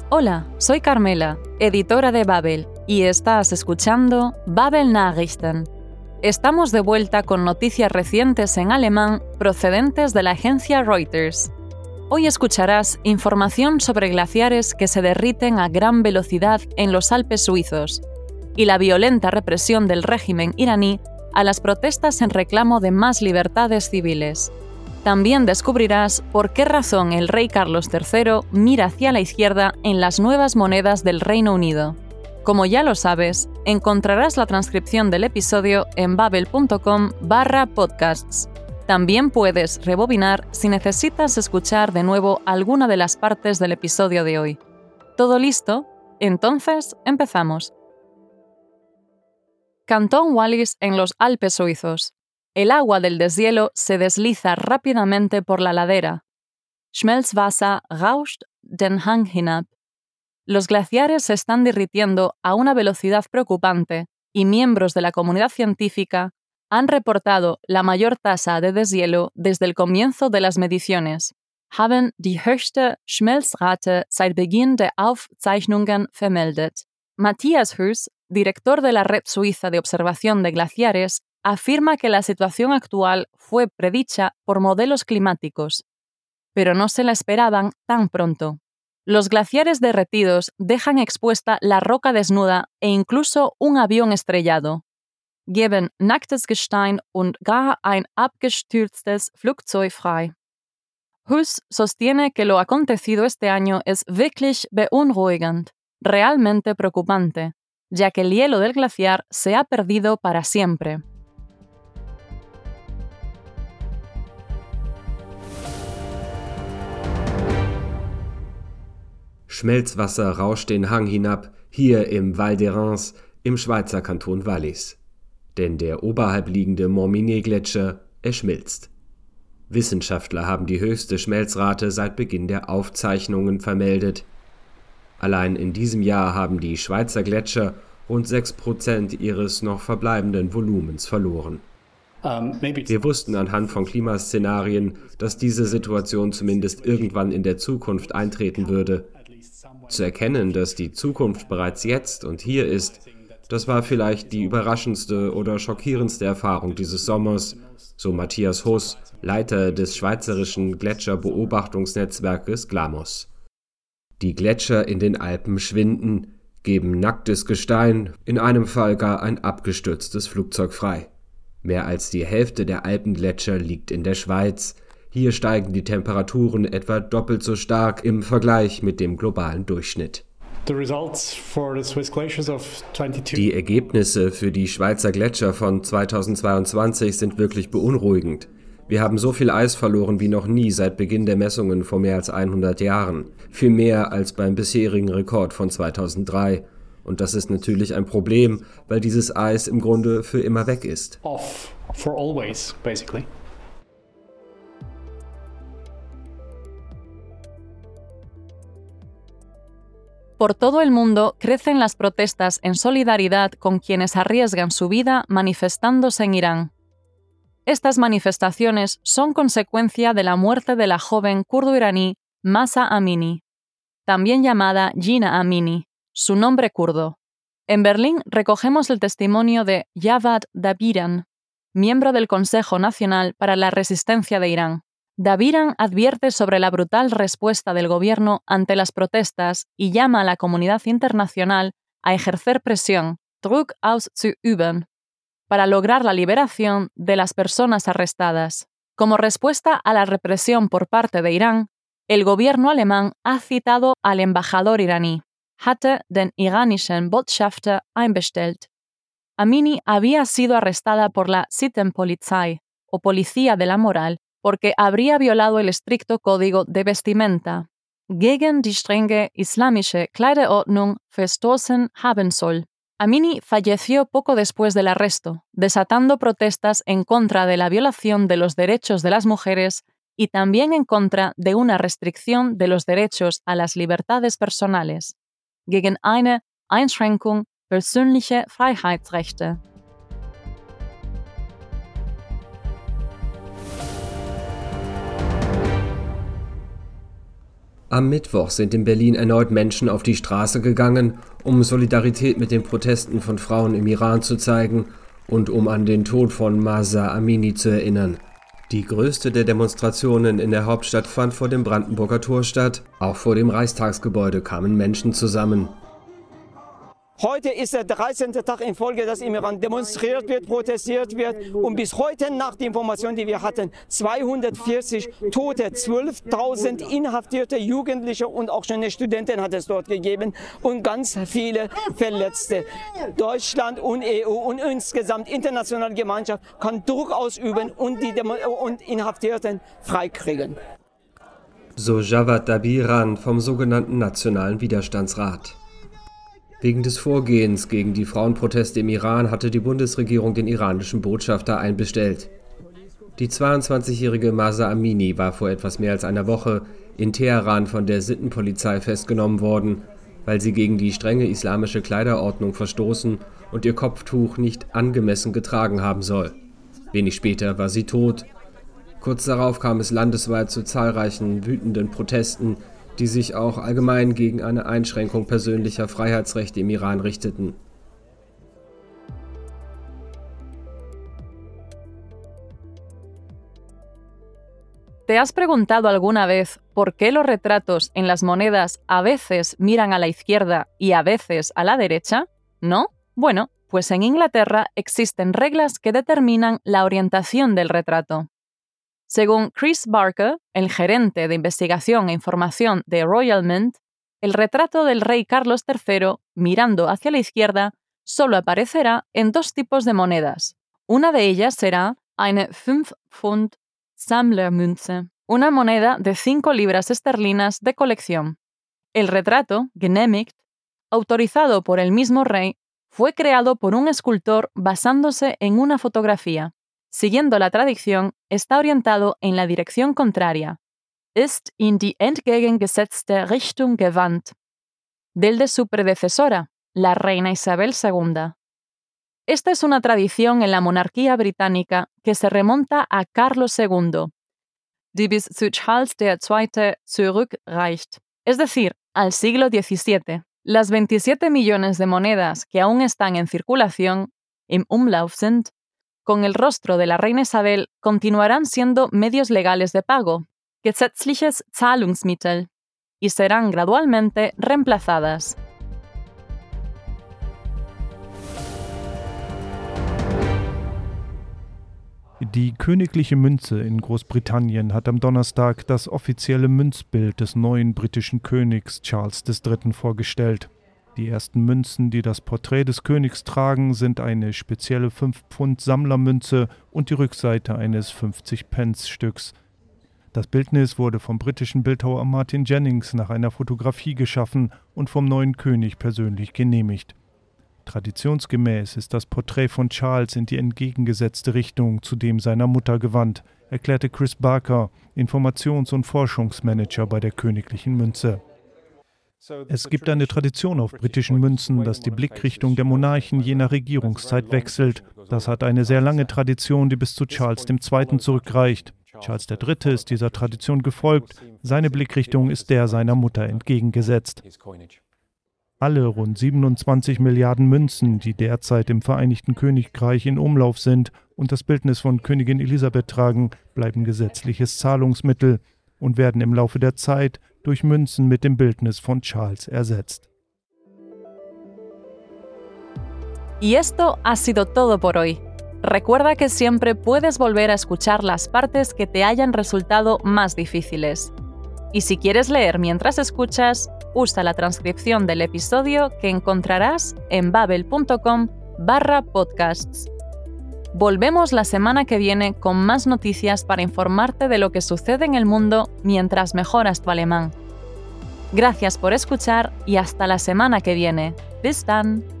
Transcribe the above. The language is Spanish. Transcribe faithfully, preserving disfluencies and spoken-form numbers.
Hola, soy Carmela, editora de Babel, y estás escuchando Babel Nachrichten. Estamos de vuelta con noticias recientes en alemán procedentes de la agencia Reuters. Hoy escucharás información sobre glaciares que se derriten a gran velocidad en los Alpes suizos y la violenta represión del régimen iraní a las protestas en reclamo de más libertades civiles. También descubrirás por qué razón el rey Carlos tercero mira hacia la izquierda en las nuevas monedas del Reino Unido. Como ya lo sabes, encontrarás la transcripción del episodio en babel.com barra podcasts. También puedes rebobinar si necesitas escuchar de nuevo alguna de las partes del episodio de hoy. ¿Todo listo? Entonces, empezamos. Cantón Wallis en los Alpes suizos. El agua del deshielo se desliza rápidamente por la ladera. Schmelzwasser rauscht den Hang hinab. Los glaciares se están derritiendo a una velocidad preocupante y miembros de la comunidad científica han reportado la mayor tasa de deshielo desde el comienzo de las mediciones. Haben die höchste Schmelzrate seit Beginn der Aufzeichnungen vermeldet. Matthias Hüss, director de la Red Suiza de Observación de Glaciares, afirma que la situación actual fue predicha por modelos climáticos, pero no se la esperaban tan pronto. Los glaciares derretidos dejan expuesta la roca desnuda e incluso un avión estrellado. Geben nacktes Gestein und gar ein abgestürztes Flugzeug frei. Hüss sostiene que lo acontecido este año es wirklich beunruhigend, realmente preocupante, ya que el hielo del glaciar se ha perdido para siempre. Schmelzwasser rauscht den Hang hinab, hier im Val d'Erens im Schweizer Kanton Wallis. Denn der oberhalb liegende Morminet-Gletscher erschmilzt. Wissenschaftler haben die höchste Schmelzrate seit Beginn der Aufzeichnungen vermeldet. Allein in diesem Jahr haben die Schweizer Gletscher rund sechs Prozent ihres noch verbleibenden Volumens verloren. Wir wussten anhand von Klimaszenarien, dass diese Situation zumindest irgendwann in der Zukunft eintreten würde. Zu erkennen, dass die Zukunft bereits jetzt und hier ist, das war vielleicht die überraschendste oder schockierendste Erfahrung dieses Sommers, so Matthias Hüss, Leiter des schweizerischen Gletscherbeobachtungsnetzwerkes GLAMOS. Die Gletscher in den Alpen schwinden, geben nacktes Gestein, in einem Fall gar ein abgestürztes Flugzeug frei. Mehr als die Hälfte der Alpengletscher liegt in der Schweiz. Hier steigen die Temperaturen etwa doppelt so stark im Vergleich mit dem globalen Durchschnitt. Die Ergebnisse für die Schweizer Gletscher von zweitausendzweiundzwanzig sind wirklich beunruhigend. Wir haben so viel Eis verloren wie noch nie seit Beginn der Messungen vor mehr als hundert Jahren. Viel mehr als beim bisherigen Rekord von zweitausenddrei. Und das ist natürlich ein Problem, weil dieses Eis im Grunde für immer weg ist. Off for always, basically. Por todo el mundo crecen las protestas en solidaridad con quienes arriesgan su vida manifestándose en Irán. Estas manifestaciones son consecuencia de la muerte de la joven kurdo-iraní Mahsa Amini, también llamada Jina Amini, su nombre kurdo. En Berlín recogemos el testimonio de Javad Dabiran, miembro del Consejo Nacional para la Resistencia de Irán. Dabiran advierte sobre la brutal respuesta del gobierno ante las protestas y llama a la comunidad internacional a ejercer presión, Druck auszuüben, para lograr la liberación de las personas arrestadas. Como respuesta a la represión por parte de Irán, el gobierno alemán ha citado al embajador iraní, hatte den iranischen Botschafter einbestellt. Amini había sido arrestada por la Sittenpolizei, o Policía de la Moral, porque habría violado el estricto código de vestimenta, gegen die strenge islamische Kleiderordnung verstoßen haben soll. Amini falleció poco después del arresto, desatando protestas en contra de la violación de los derechos de las mujeres y también en contra de una restricción de los derechos a las libertades personales, gegen eine Einschränkung persönlicher Freiheitsrechte. Am Mittwoch sind in Berlin erneut Menschen auf die Straße gegangen, um Solidarität mit den Protesten von Frauen im Iran zu zeigen und um an den Tod von Mahsa Amini zu erinnern. Die größte der Demonstrationen in der Hauptstadt fand vor dem Brandenburger Tor statt. Auch vor dem Reichstagsgebäude kamen Menschen zusammen. Heute ist der dreizehnte Tag in Folge, dass im Iran demonstriert wird, protestiert wird. Und bis heute, nach den Informationen, die wir hatten, zweihundertvierzig Tote, zwölftausend inhaftierte Jugendliche und auch schon eine Studentin hat es dort gegeben und ganz viele Verletzte. Deutschland und E U und insgesamt internationale Gemeinschaft kann Druck ausüben und die Demo- und Inhaftierten freikriegen. So Javad Dabiran vom sogenannten Nationalen Widerstandsrat. Wegen des Vorgehens gegen die Frauenproteste im Iran hatte die Bundesregierung den iranischen Botschafter einbestellt. Die zweiundzwanzigjährige Mahsa Amini war vor etwas mehr als einer Woche in Teheran von der Sittenpolizei festgenommen worden, weil sie gegen die strenge islamische Kleiderordnung verstoßen und ihr Kopftuch nicht angemessen getragen haben soll. Wenig später war sie tot. Kurz darauf kam es landesweit zu zahlreichen wütenden Protesten, die sich auch allgemein gegen eine Einschränkung persönlicher Freiheitsrechte im Iran richteten. ¿Te has preguntado alguna vez por qué los retratos en las monedas a veces miran a la izquierda y a veces a la derecha? ¿No? Bueno, pues en Inglaterra existen reglas que determinan la orientación del retrato. Según Chris Barker, el gerente de investigación e información de Royal Mint, el retrato del rey Carlos tercero, mirando hacia la izquierda, solo aparecerá en dos tipos de monedas. Una de ellas será eine fünf Pfund Sammlermünze, una moneda de cinco libras esterlinas de colección. El retrato, genehmigt, autorizado por el mismo rey, fue creado por un escultor basándose en una fotografía. Siguiendo la tradición, está orientado en la dirección contraria, ist in die entgegengesetzte Richtung gewandt, del de su predecesora, la reina Isabel segunda. Esta es una tradición en la monarquía británica que se remonta a Carlos segundo, die bis zu Charles der Zweite zurückreicht, es decir, al siglo diecisiete. Las veintisiete millones de monedas que aún están en circulación, im Umlauf sind, con el rostro de la reina Isabel continuarán siendo medios legales de pago, gesetzliches Zahlungsmittel, y serán gradualmente reemplazadas. Die königliche Münze in Großbritannien hat am Donnerstag das offizielle Münzbild des neuen britischen Königs Charles der Dritte vorgestellt. Die ersten Münzen, die das Porträt des Königs tragen, sind eine spezielle fünf Pfund Sammlermünze und die Rückseite eines fünfzig-Pence-Stücks. Das Bildnis wurde vom britischen Bildhauer Martin Jennings nach einer Fotografie geschaffen und vom neuen König persönlich genehmigt. Traditionsgemäß ist das Porträt von Charles in die entgegengesetzte Richtung zu dem seiner Mutter gewandt, erklärte Chris Barker, Informations- und Forschungsmanager bei der königlichen Münze. Es gibt eine Tradition auf britischen Münzen, dass die Blickrichtung der Monarchen je nach Regierungszeit wechselt. Das hat eine sehr lange Tradition, die bis zu Charles der Zweite zurückreicht. Charles der Dritte ist dieser Tradition gefolgt. Seine Blickrichtung ist der seiner Mutter entgegengesetzt. Alle rund siebenundzwanzig Milliarden Münzen, die derzeit im Vereinigten Königreich in Umlauf sind und das Bildnis von Königin Elisabeth tragen, bleiben gesetzliches Zahlungsmittel und werden im Laufe der Zeit durch Münzen mit dem Bildnis von Charles ersetzt. Y esto ha sido todo por hoy. Recuerda que siempre puedes volver a escuchar las partes que te hayan resultado más difíciles. Y si quieres leer mientras escuchas, usa la transcripción del episodio que encontrarás en babel punto com barra podcasts. Volvemos la semana que viene con más noticias para informarte de lo que sucede en el mundo mientras mejoras tu alemán. Gracias por escuchar y hasta la semana que viene. Bis dann!